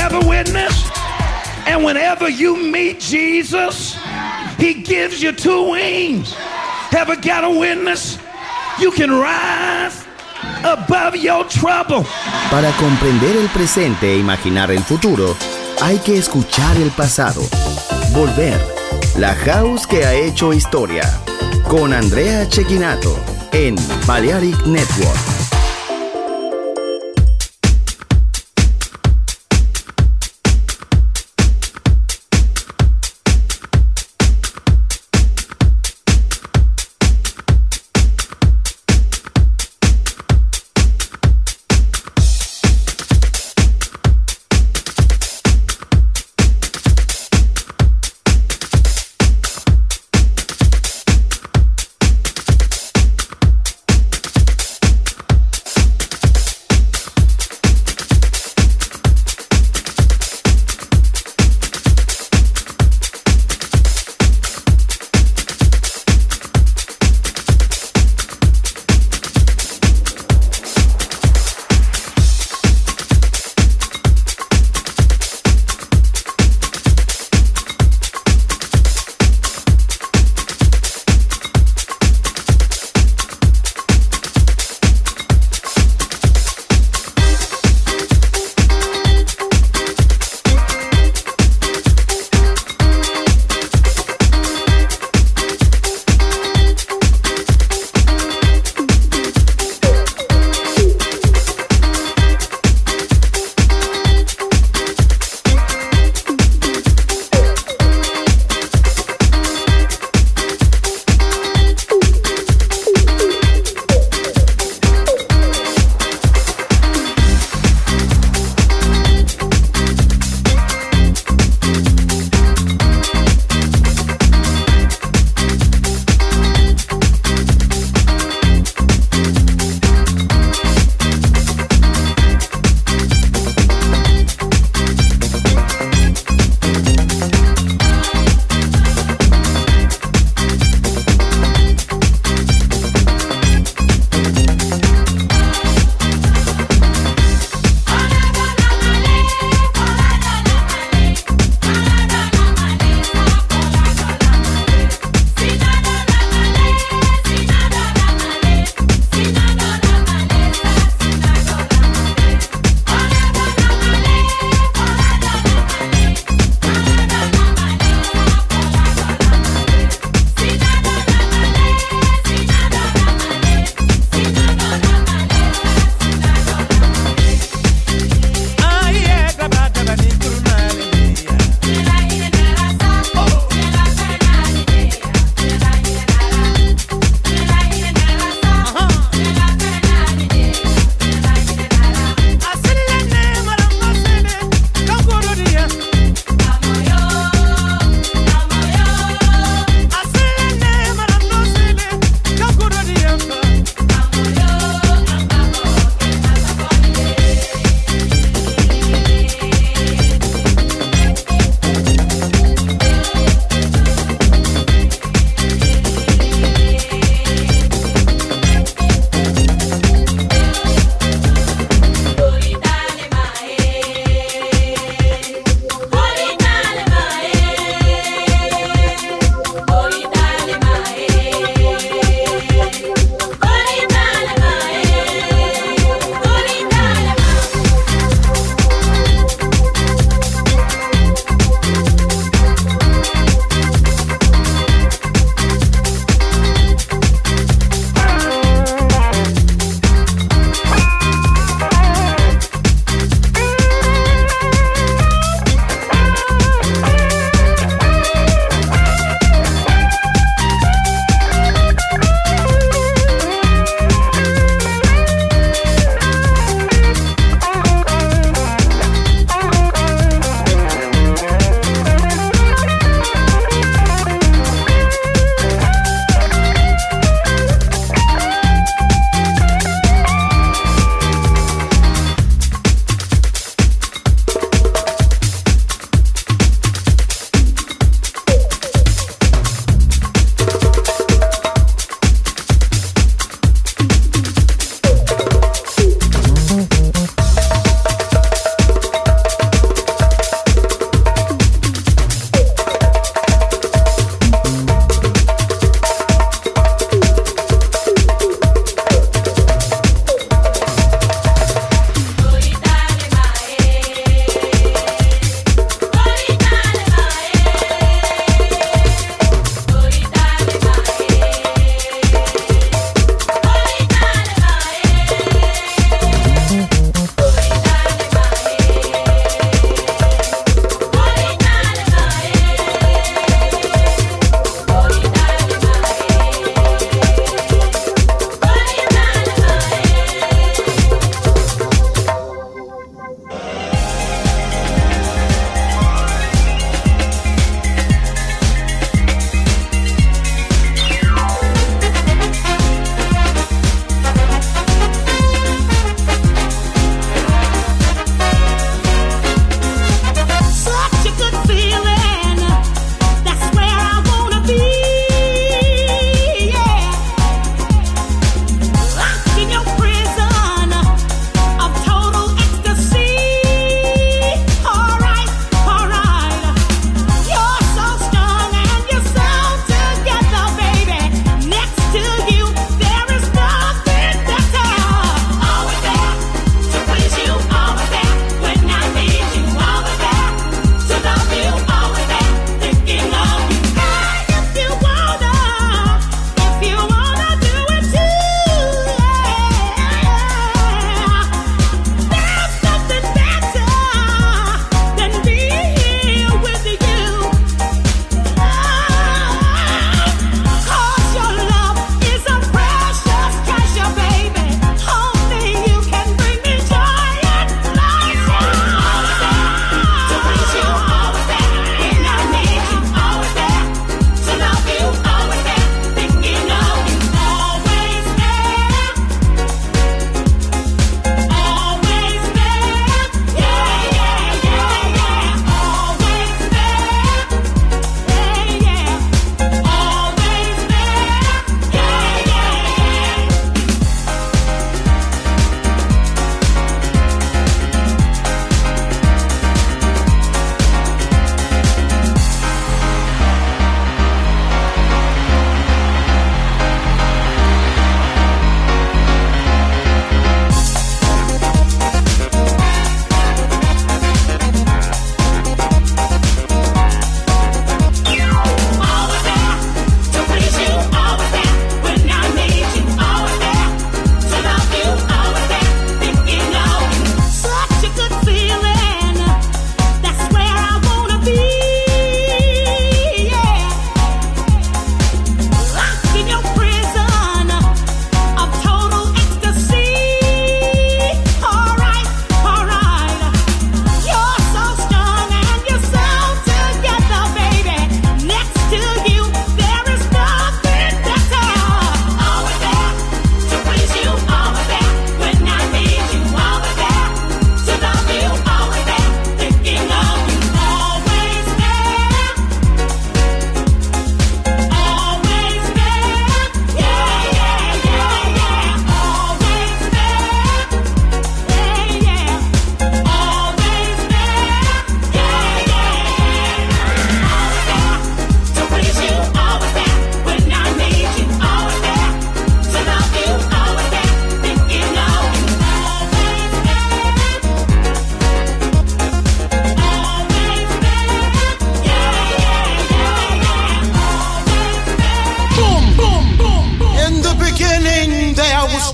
have a witness? And whenever you meet Jesus, he gives you two wings. Ever got a witness? You can rise above your trouble. Para comprender el presente e imaginar el futuro, hay que escuchar el pasado. Volver. La House que ha hecho historia. Con Andrea Cecchinato en Balearic Network.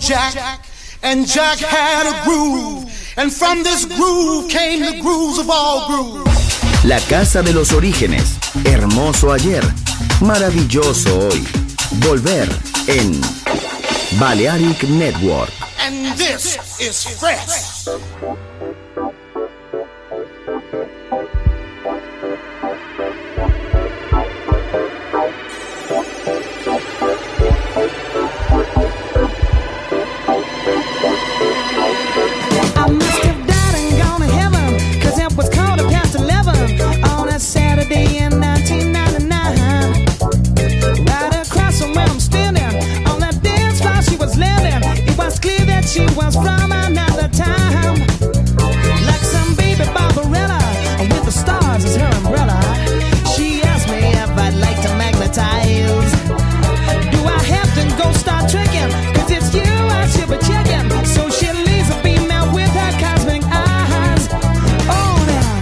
Jack, and Jack had a groove, and from this groove came the grooves of all grooves. La casa de los orígenes, hermoso ayer, maravilloso hoy. Volver en Balearic Network. And this is fresh. Saturday in 1999, right across from where I'm standing, on that dance floor she was living. It was clear that she was from another time, like some baby Barbarella with the stars as her umbrella. She asked me if I'd like to magnetize. Do I have to go start tricking? 'Cause it's you I should be checking. So she leaves a beam out with her cosmic eyes. Oh, now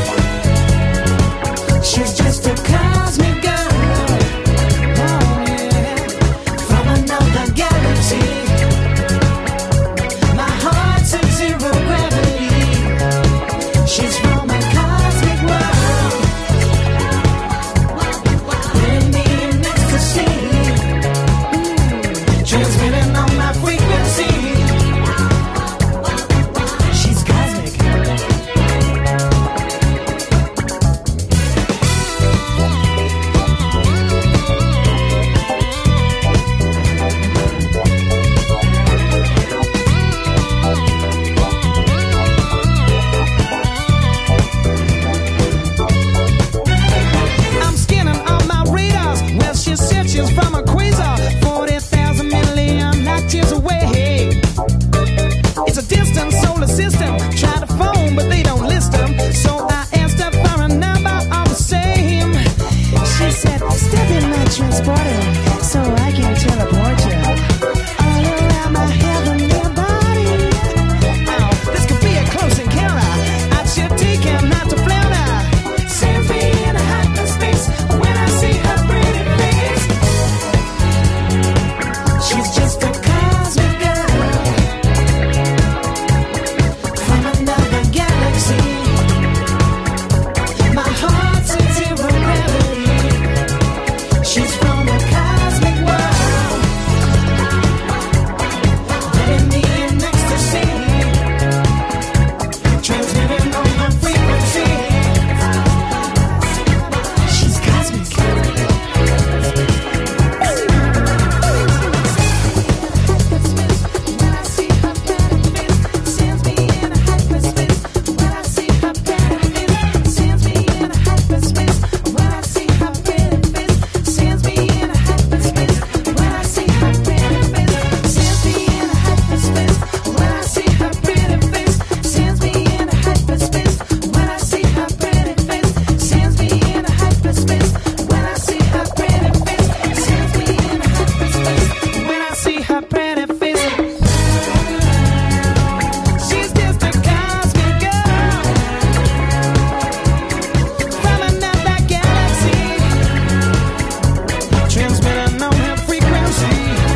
she's just a cosmic girl, oh yeah, from another galaxy. My heart's in zero gravity. She's from a cosmic world, putting me in ecstasy, transmitting on my frequency. She's cosmic. I'm scanning on my radars. Well, she said she's from a quasar, 40,000 million light years away. It's a distant solar system. Try to phone, but they don't list them. So I asked her for a number all the same. She said, step in my transporter so I can teleport you all around my heavenly body. Oh, this could be a close encounter. I should take him not to flounder. Sends me in a hyperspace when I see her pretty face. She's just a cosmic girl from another galaxy. My heart's in zero gravity. She's from a cosmic world, putting me in ecstasy, transmitting on my frequency. She's cosmic. When I see her pretty face, sends me in a hyperspace. When I see her pretty face, sends me in a hyperspace. When I see her pretty face, sends me in a hyperspace. When I see her pretty face, sends me in a hyperspace. When I see her pretty face, sends me in a hyperspace. When I see her pretty face, sends me in a hyperspace. When I see her pretty face, sends me in a hyperspace. When I see her pretty face, she's just a cosmic girl from another galaxy, transmitting on her frequency.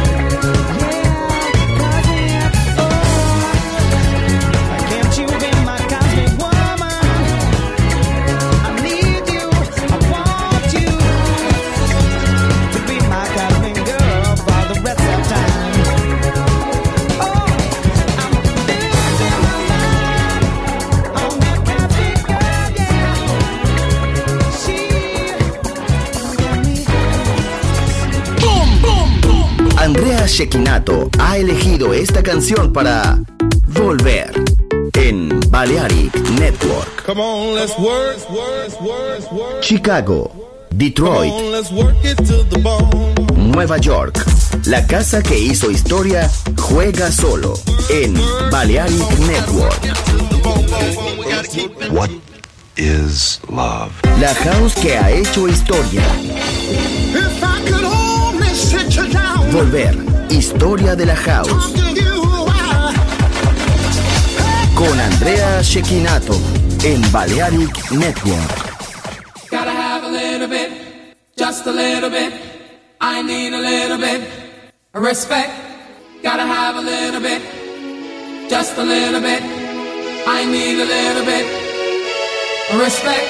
Yeah, cosmic. Oh, can't you be my cosmic woman? I need you, I want you to be my cosmic girl for the rest of time. Oh, I'm losing my mind on that cosmic girl, yeah. She got me. Andrea Cecchinato ha elegido esta canción para Volver en Balearic Network. Come on, let's work. Chicago, Detroit, Come on, let's work it to the bone. Nueva York. La casa que hizo historia juega solo en Balearic Network. What is love? La house que ha hecho historia. If I could only sit you down, Volver, historia de la house. talk to you, Con Andrea Cecchinato en Balearic Network. Gotta have a little bit, just a little bit. I need a little bit of respect. Gotta have a little bit, just a little bit. I need a little bit of respect.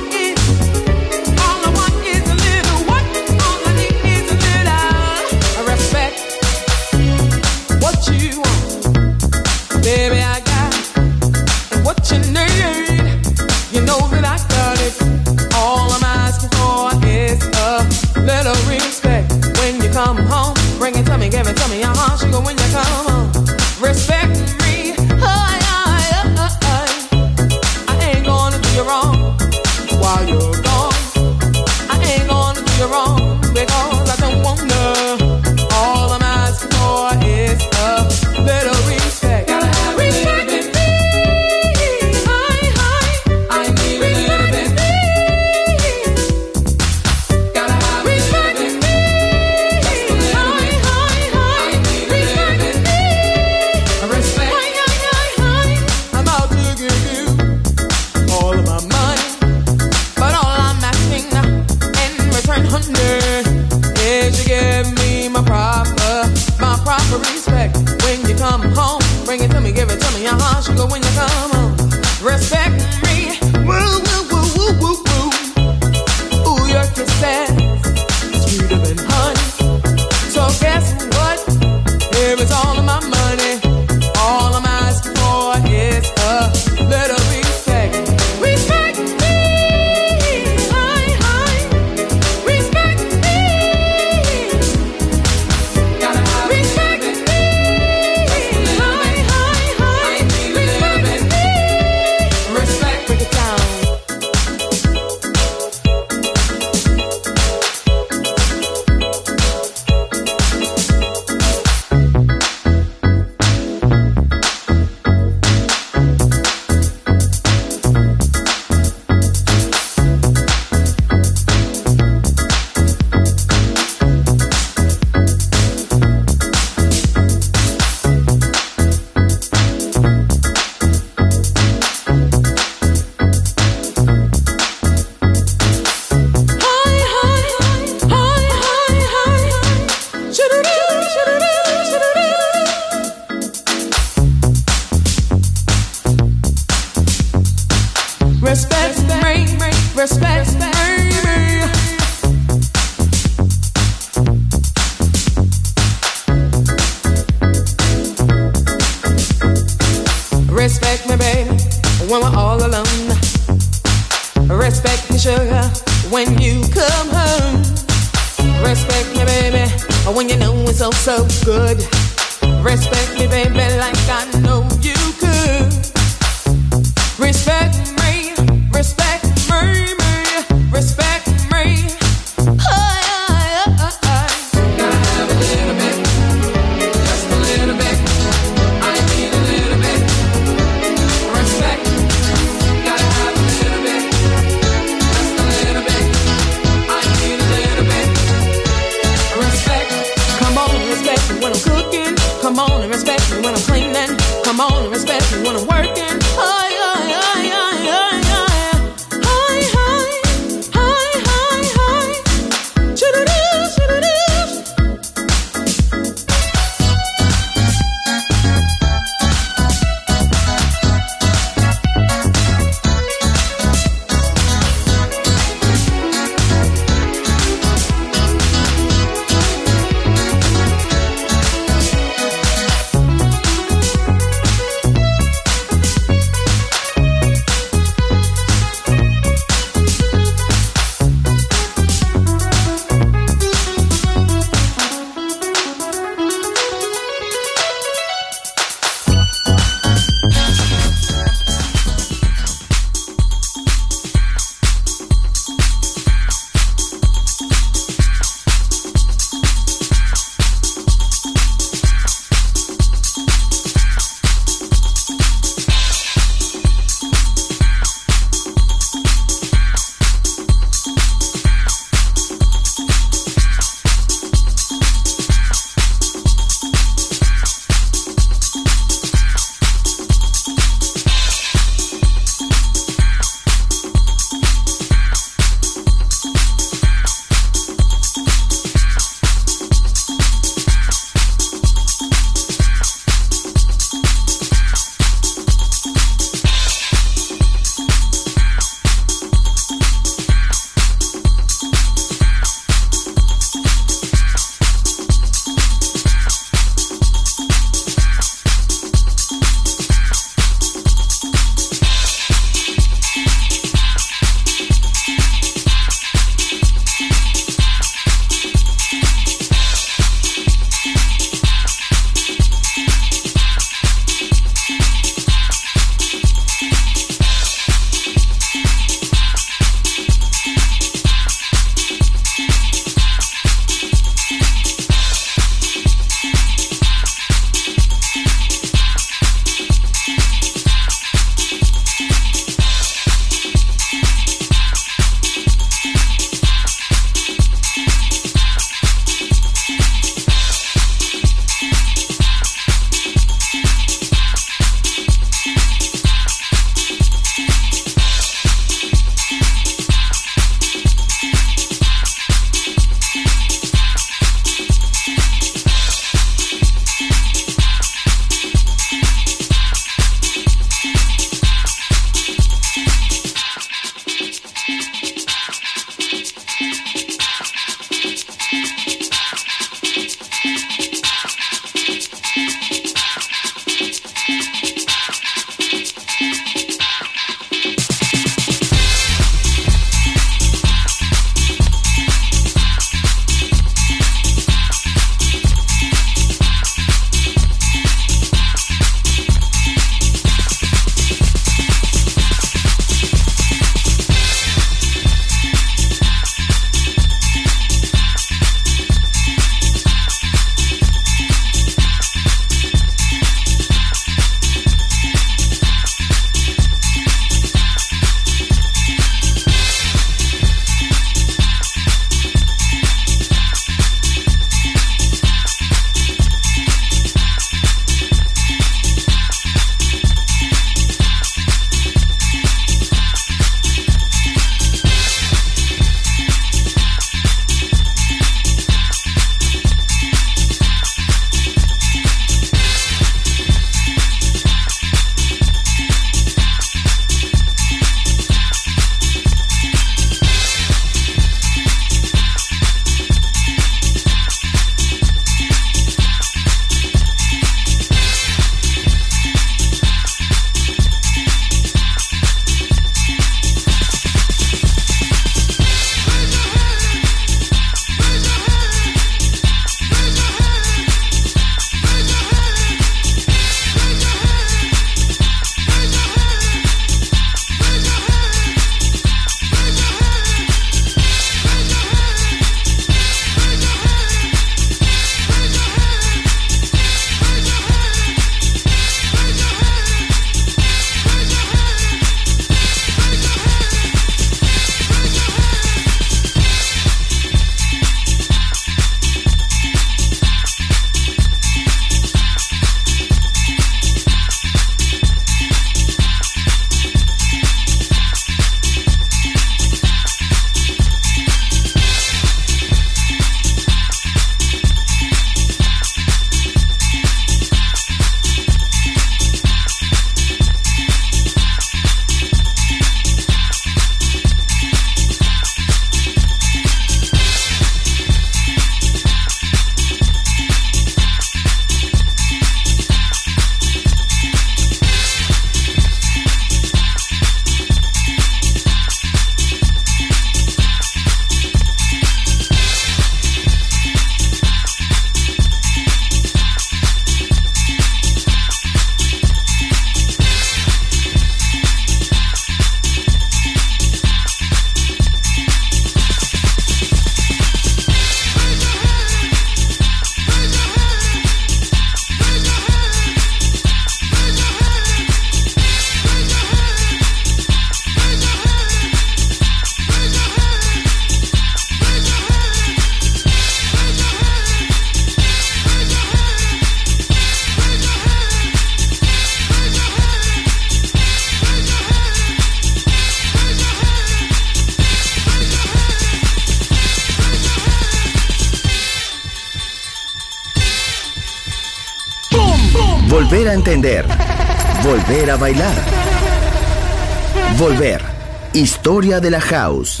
volver a entender, volver a bailar. Volver. Historia de la house.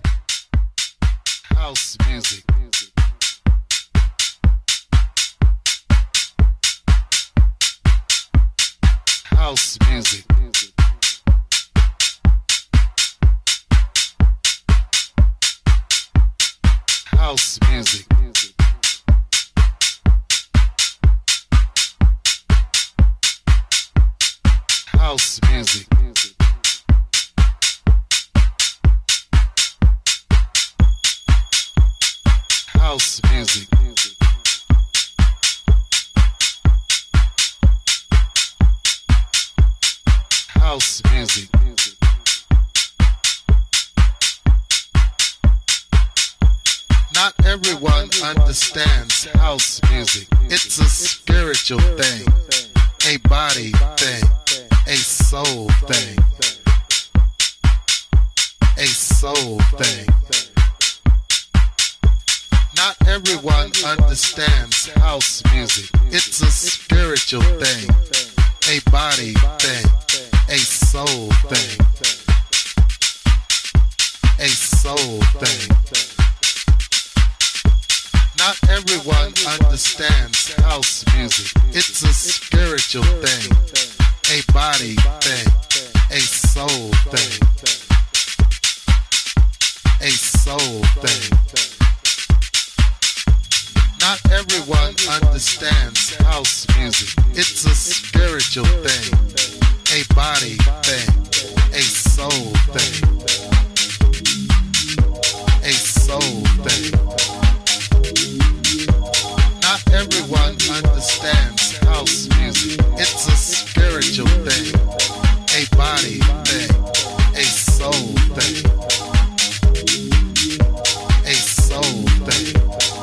House music. House music. House music. House music. House music. House music. Not everyone understands house music. It's a spiritual thing, a body thing, a soul thing, a soul thing. Not everyone understands house music. It's a spiritual thing, a body thing, a soul thing, a soul thing. Not everyone understands house music. It's a spiritual thing, a body thing, a soul thing, a soul thing. Not everyone understands house music. It's a spiritual thing, a body thing, a soul thing, a soul thing. Not everyone understands house music. It's a spiritual thing, a body thing, a soul thing, a soul thing.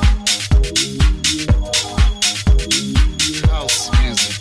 House music.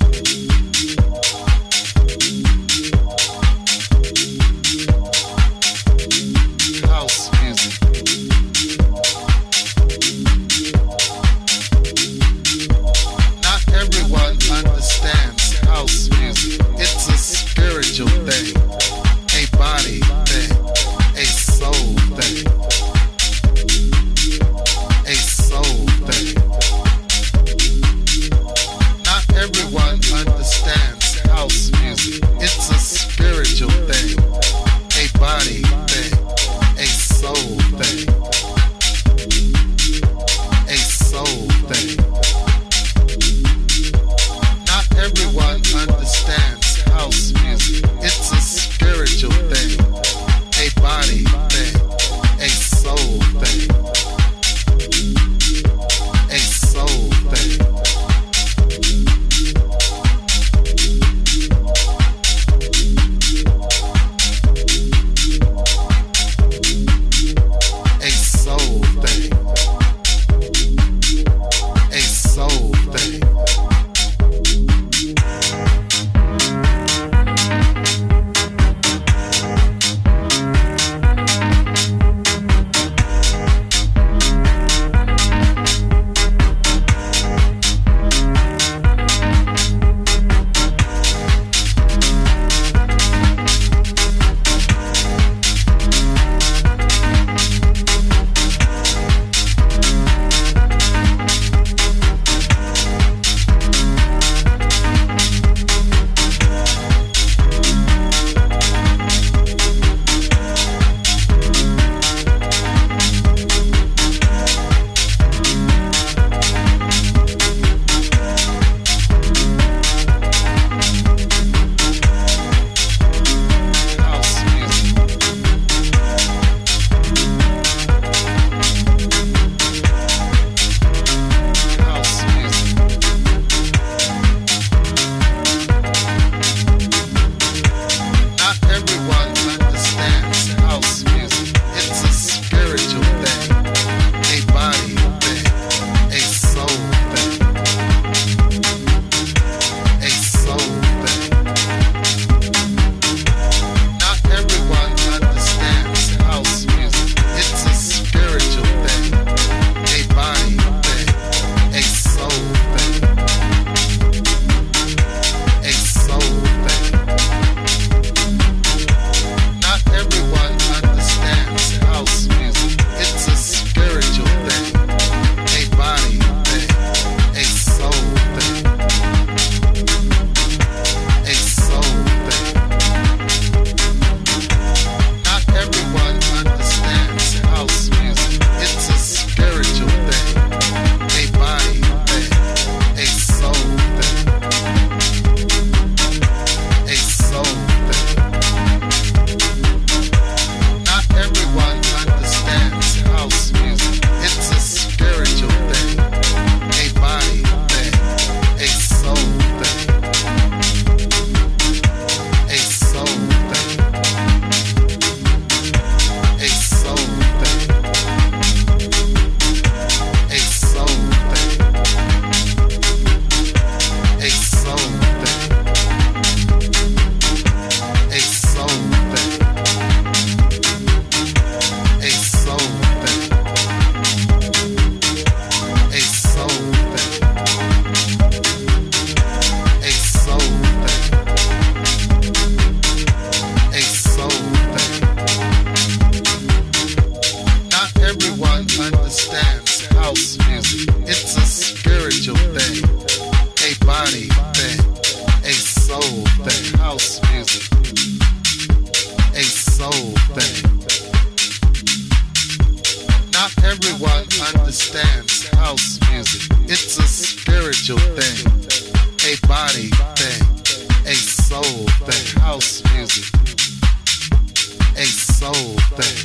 Not everyone understands house music. It's a spiritual thing, a body thing, a soul thing. House music, a soul thing.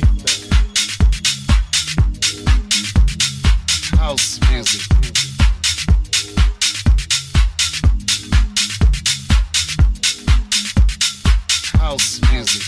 House music. House music.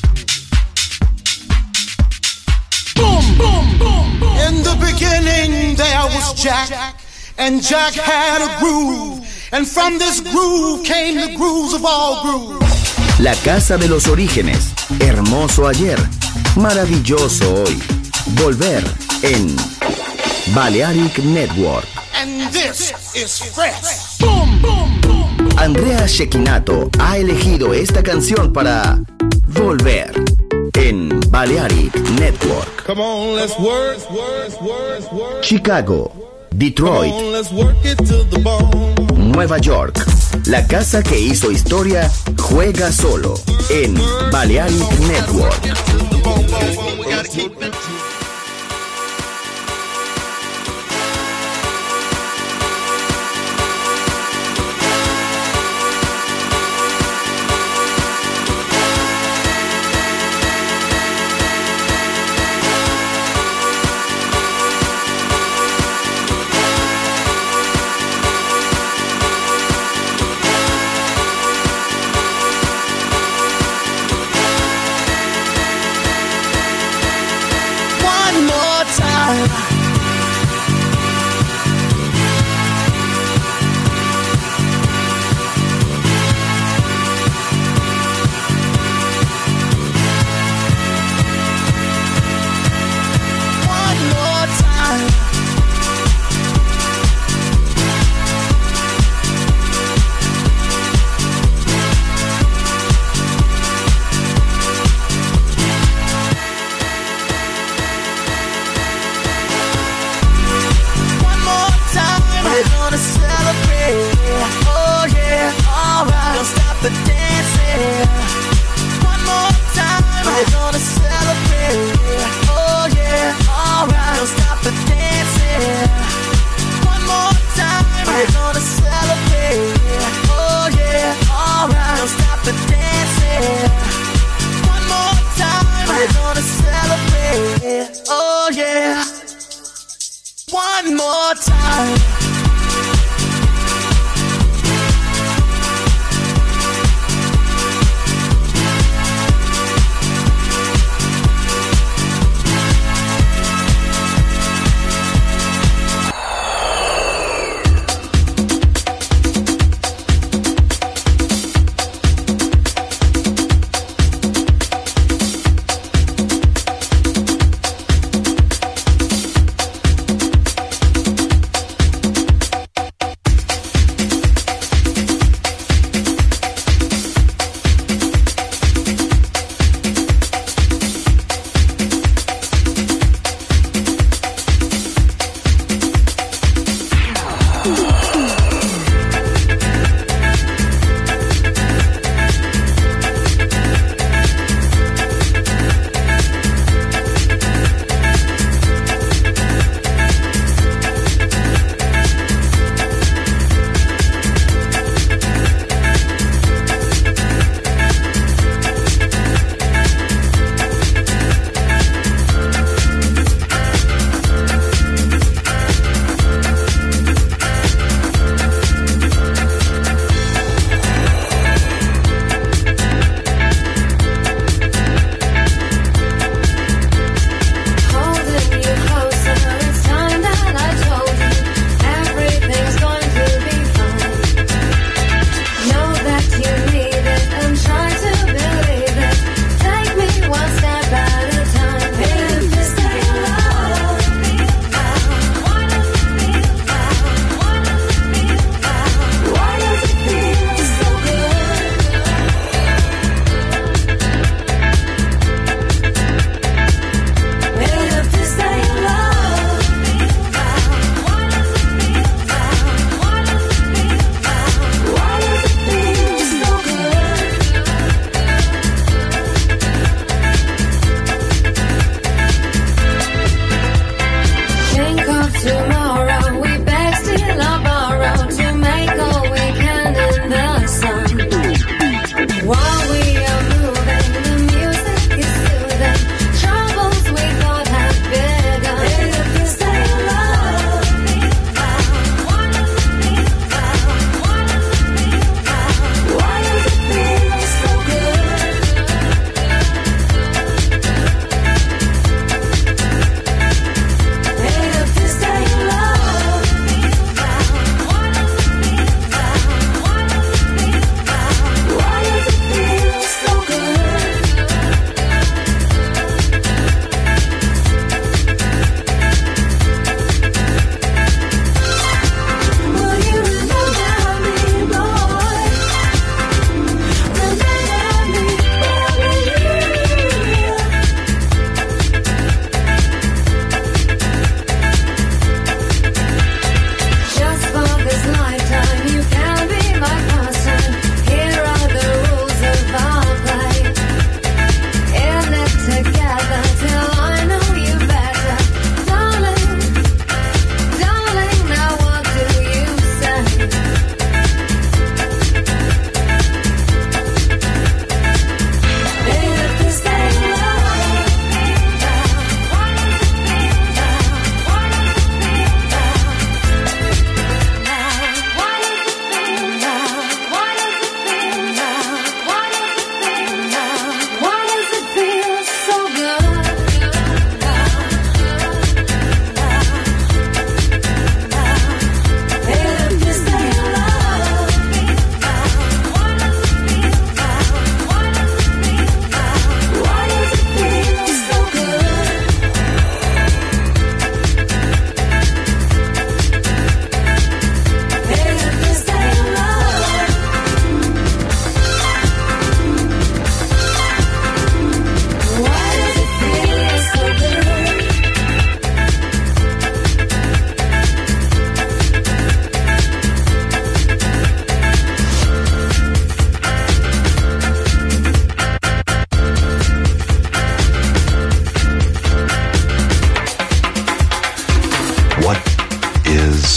Boom, boom, boom, boom. In the beginning there was Jack, and Jack had a groove, and from this groove came the grooves of all grooves. La casa de los orígenes, hermoso ayer, maravilloso hoy. Volver en Balearic Network. And this is fresh. Boom, boom, boom. Andrea Cecchinato ha elegido esta canción para Volver en Balearic Network. Come on, let's work. Chicago, Detroit, Come on, let's work it to the bone. Nueva York. La casa que hizo historia juega solo en Balearic Network.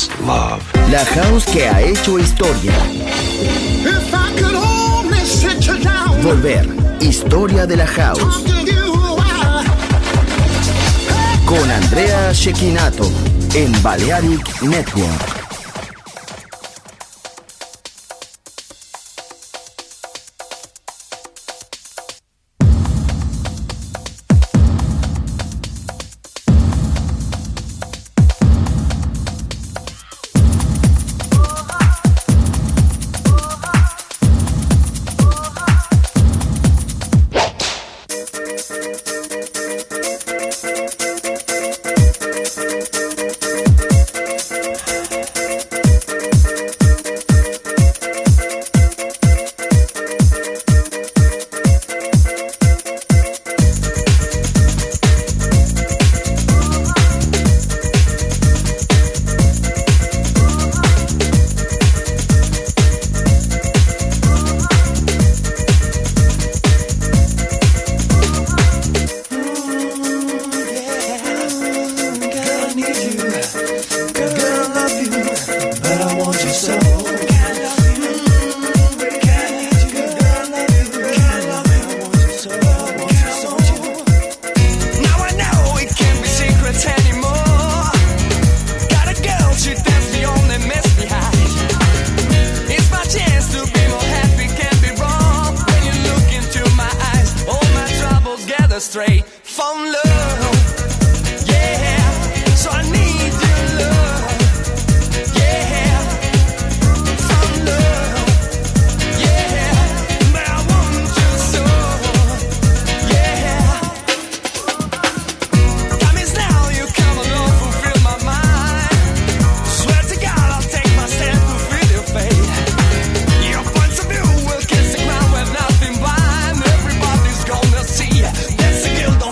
is love. La house que ha hecho historia. If I could only sit you down. Volver. Historia de la house. Con Andrea Cecchinato en Balearic Network. Straight from love, yeah. So I need your love, yeah. From love, yeah. But I want you so, yeah. Promise now you come along, fulfill my mind. Swear to God I'll take my stand to feel your fate. Your points of view will kiss the ground with nothing blind. Everybody's gonna see. That's the guilt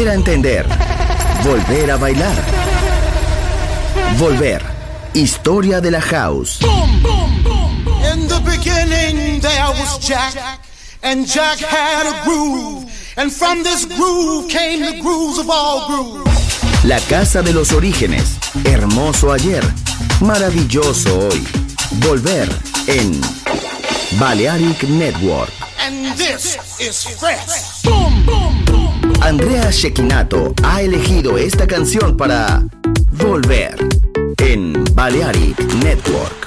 volver a entender, volver a bailar. Volver. Historia de la house. In the beginning there was Jack, and Jack had a groove, and from this groove came the grooves of all grooves. La casa de los orígenes. Hermoso ayer, maravilloso hoy. Volver en Balearic Network. And this is fresh. Andrea Cecchinato ha elegido esta canción para Volver en Balearic Network.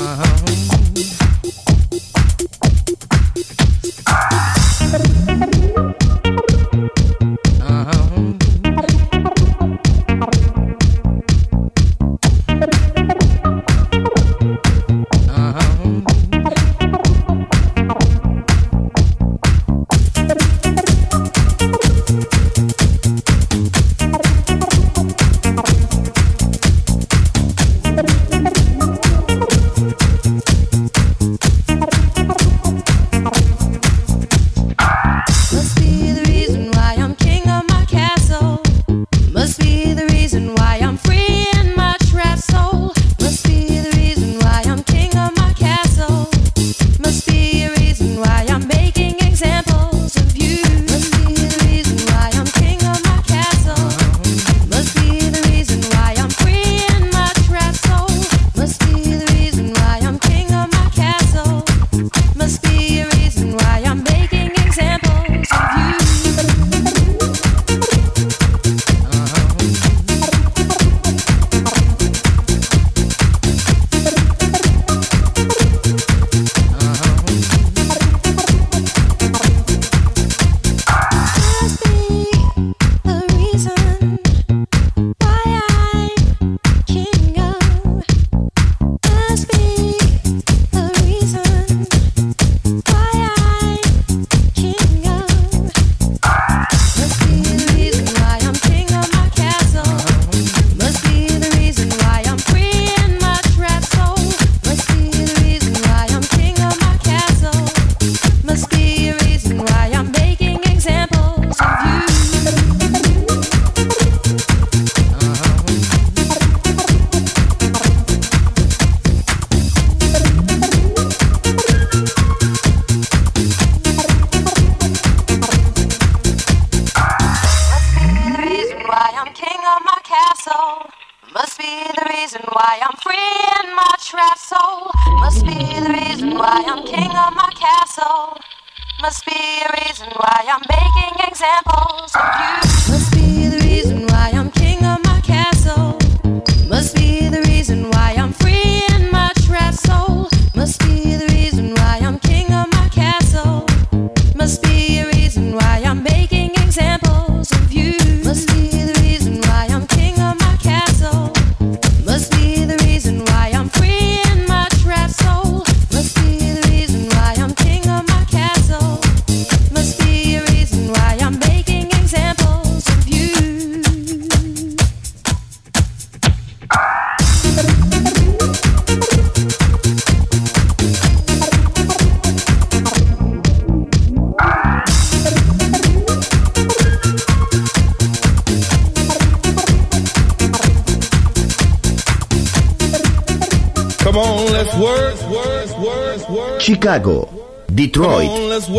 Chicago, Detroit,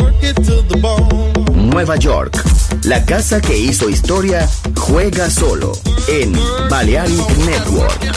Nueva York. La casa que hizo historia juega solo en Balearic Network.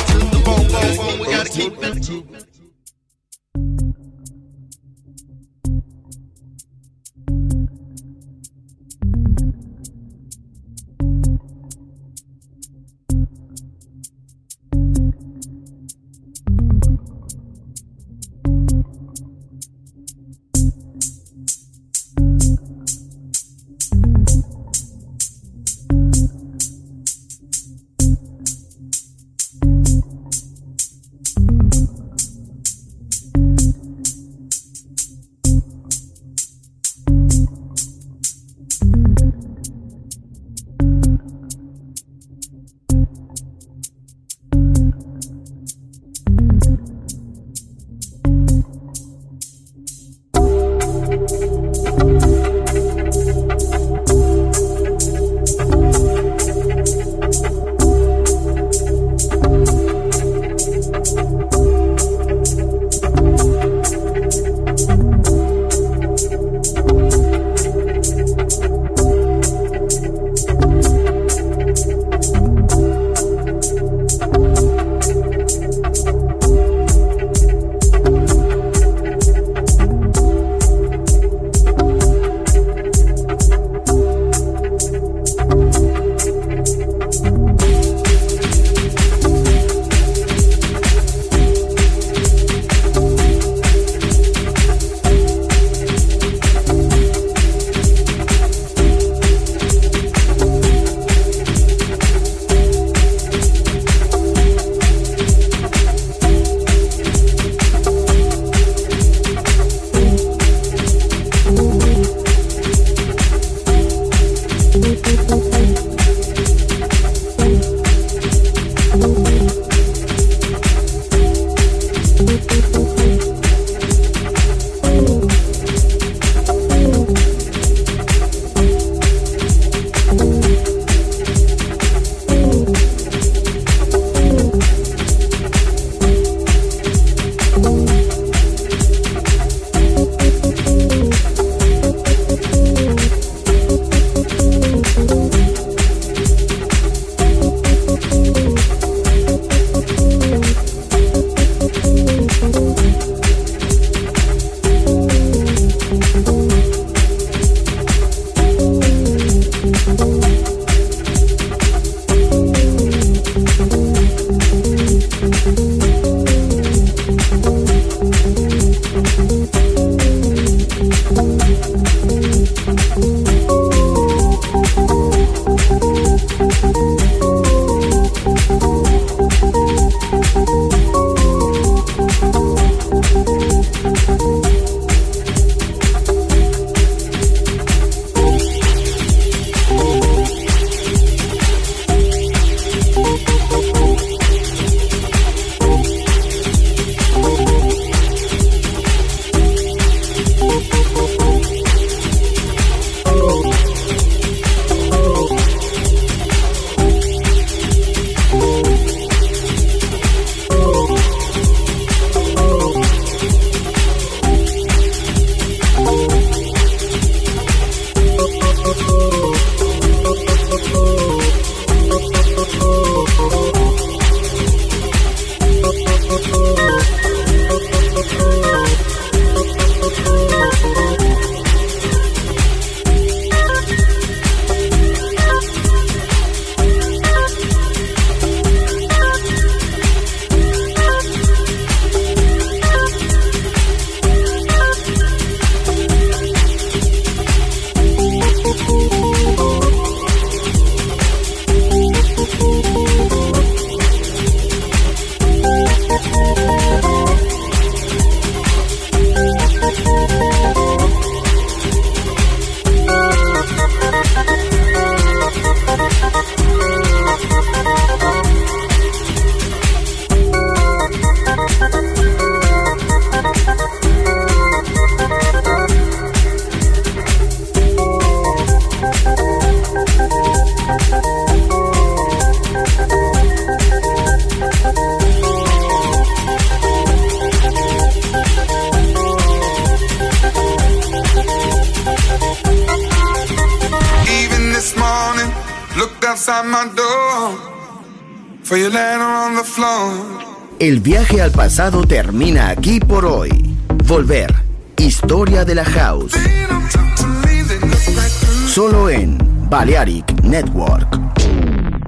El viaje al pasado termina aquí por hoy. Volver. Historia de la House. Solo en Balearic Network.